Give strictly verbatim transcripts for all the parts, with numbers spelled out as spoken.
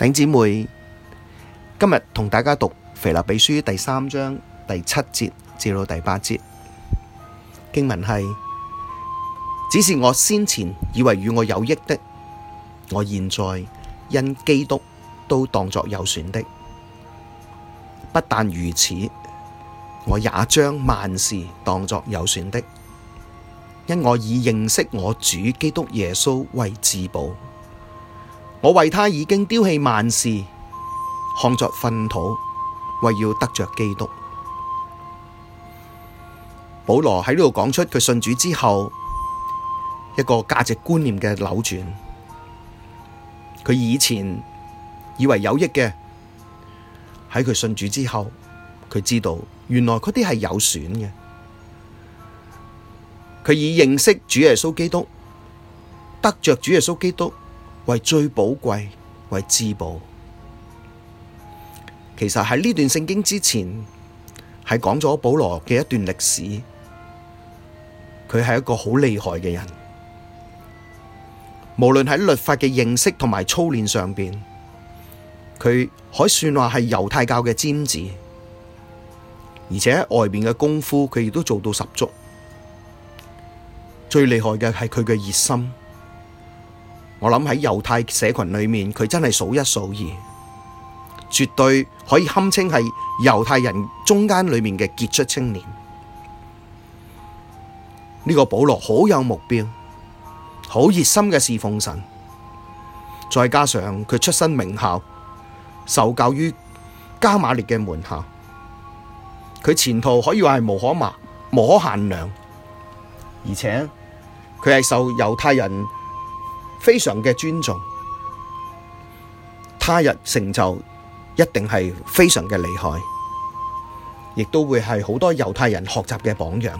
弟兄姊妹，今日同大家讀腓立比書第三章第七節至到第八節經文係：只是我先前以為與我有益的，我現在因基督都當作有損的。不但如此，我也將萬事當作有損的，因我以認識我主基督耶穌為至寶。我為他已經丟棄萬事，看作糞土，為要得着基督。保羅喺呢度講出佢信主之後一個價值觀念嘅扭轉。佢以前以為有益嘅，喺佢信主之後，佢知道原來嗰啲係有損嘅。佢以認識主耶穌基督，得着主耶穌基督為最寶貴，為至寶。其實喺呢段聖經之前，係講咗保羅嘅一段歷史。佢係一個好厲害嘅人，無論喺律法嘅認識同埋操練上邊，佢可以算話係猶太教嘅尖子，而且喺外邊嘅功夫，佢亦都做到十足。最厲害嘅係佢嘅熱心。我諗喺猶太社群裏面，佢真係數一數二，絕對可以堪稱係猶太人中間裏面嘅傑出青年。呢個保羅好有目標，好熱心嘅侍奉神，再加上佢出身名校，受教於迦瑪列嘅門下，佢前途可以話係無可麻無可限量，而且佢係受猶太人非常嘅尊重，他日成就一定係非常嘅厲害，亦都會係好多猶太人學習嘅榜樣。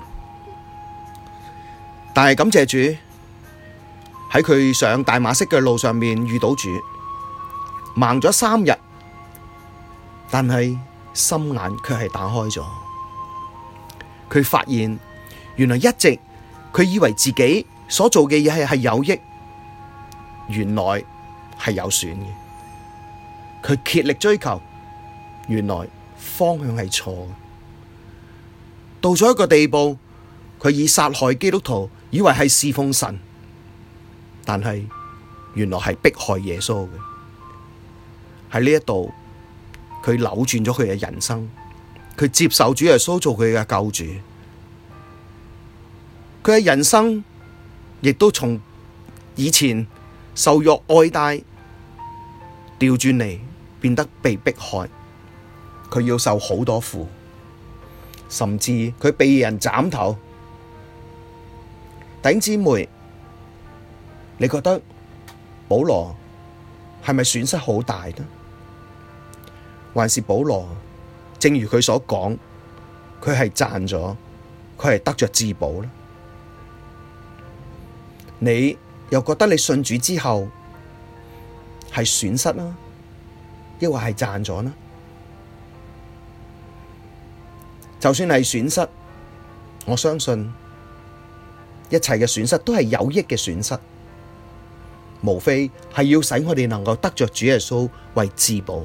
但係感謝主，喺佢上大馬色嘅路上面遇到主，盲咗三日，但係心眼卻係打開咗。佢發現原來一直佢以為自己所做嘅嘢係係有益，原來係有損嘅。佢竭力追求，原來方向係錯嘅。到咗一個地步，佢以殺害基督徒以為係侍奉神，但係原來係迫害耶穌嘅。喺呢一度，佢扭轉咗佢嘅人生，佢接受主耶穌做佢嘅救主。佢嘅人生亦都從以前受辱愛戴，調轉嚟變得被迫害，佢要受好多苦，甚至佢被人斬頭。弟兄姊妹，你覺得保羅係咪損失好大呢？還是保羅正如佢所講，佢係賺咗，佢係得着至寶呢？你又覺得你信主之後係損失啦，抑或係賺咗呢？就算係損失，我相信一切嘅損失都係有益嘅損失，無非係要使我哋能夠得着主耶穌為至寶。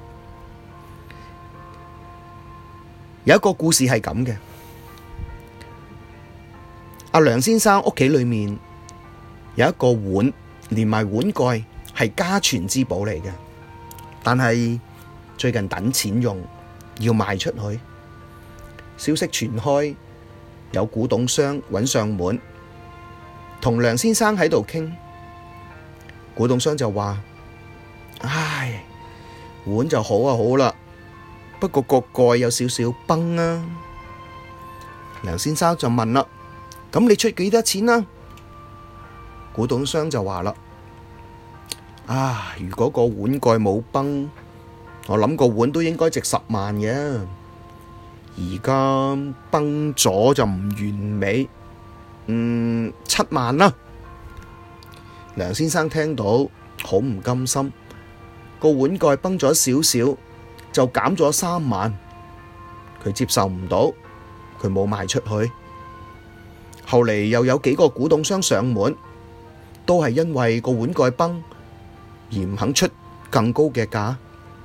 有一個故事係咁嘅，阿梁先生屋企裏面有一個碗，連埋碗蓋係家傳之寶嚟嘅，但係最近等錢用，要賣出去。消息傳開，有古董商揾上門，同梁先生喺度傾。古董商就話：唉，碗就好啊，好啦，不過個蓋有少少崩啊。梁先生就問啦：咁你出幾多錢啊？古董商就話啦：啊，如果個碗蓋冇崩，我諗個碗都應該值十萬嘅。而家崩咗就唔完美，嗯，七萬啦。梁先生聽到好唔甘心，個碗蓋崩咗少少，就減咗三萬，佢接受唔到，佢冇賣出去。後嚟又有幾個古董商上門，都係因為個碗蓋崩而唔肯出更高嘅價？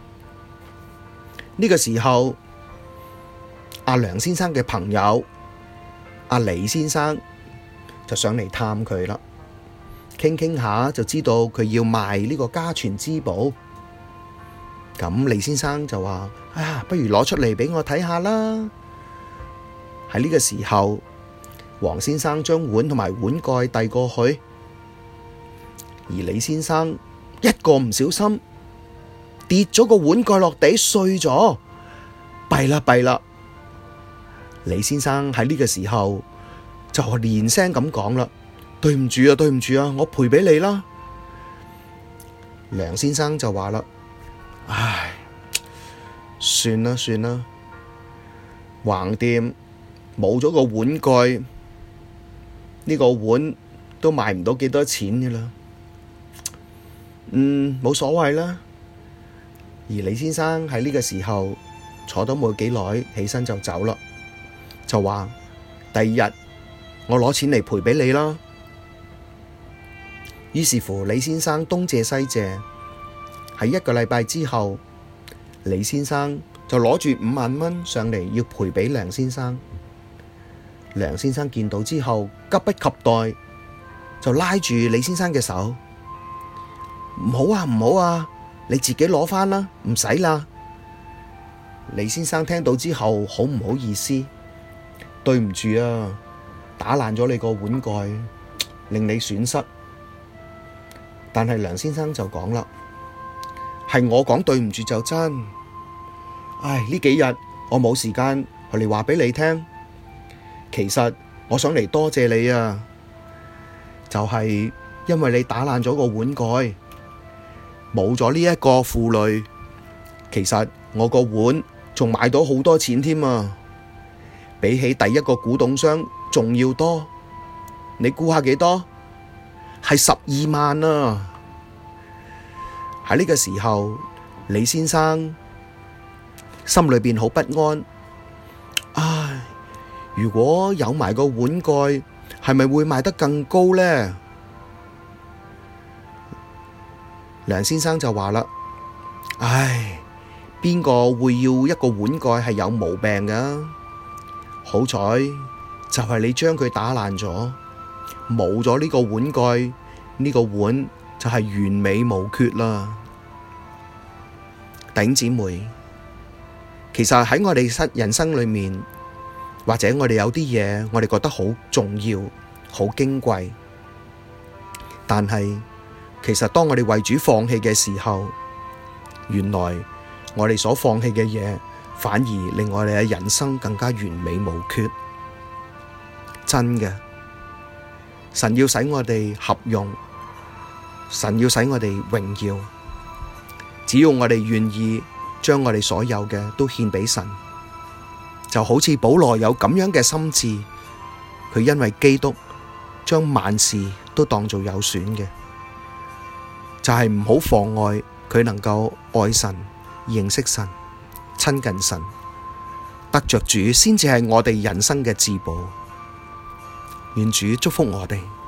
呢個時候，阿梁先生嘅朋友阿李先生就上嚟探佢啦，傾傾下就知道佢要賣呢個家傳之寶。咁李先生就話：啊，不如攞出嚟畀我睇下啦。喺呢個時候，黃先生將碗同埋碗蓋遞過去，而李先生一個唔小心跌咗個碗蓋落地碎咗，弊啦弊啦！李先生喺呢個時候就連聲咁講啦：對唔住啊，對唔住啊，我賠畀你啦。梁先生就話啦：唉，算啦算啦，橫掂冇咗個碗蓋，呢個碗都賣唔到幾多錢㗎啦。嗯，冇所謂啦。而李先生喺呢個時候坐咗冇幾耐，起身就走啦，就話第二日我攞錢嚟賠畀你啦。於是乎，李先生東借西借，喺一個禮拜之後，李先生就攞住五萬蚊上嚟要賠畀梁先生。梁先生見到之後，急不及待就拉住李先生嘅手：唔好啊，唔好啊，你自己攞返啦，唔使啦。李先生聽到之後，好唔好意思，對唔住啊，打爛咗你個碗蓋，令你損失。但係梁先生就講啦：係我講對唔住就真。唉，呢幾日我冇時間嚟話畀你聽。其實我想嚟多謝你啊，就係因為你打爛咗個碗蓋，冇咗呢一個負累，其實我個碗仲買到好多錢添啊，比起第一個古董商仲要多。你估下幾多？係十二萬啊！喺呢個時候，李先生心裏邊好不安。唉，如果有埋個碗蓋，係咪會賣得更高呢？梁先生就話啦：唉，邊個會要一個碗蓋係有毛病㗎？好彩就係你將佢打爛咗，冇咗呢個碗蓋，呢個碗就係完美無缺啦。弟兄姊妹，其實喺我哋人生裏面，或者我哋有啲嘢，我哋覺得好重要、好矜貴，但係其實當我哋為主放棄嘅時候，原來我哋所放棄嘅嘢，反而令我哋嘅人生更加完美無缺。真嘅，神要使我哋合用，神要使我哋榮耀，只要我哋願意將我哋所有嘅都獻畀神，就好似保羅有咁樣嘅心志，佢因為基督將萬事都當做有損嘅，就係唔好妨礙佢能夠愛神、認識神、親近神，得着主先至係我哋人生嘅至寶。願主祝福我哋。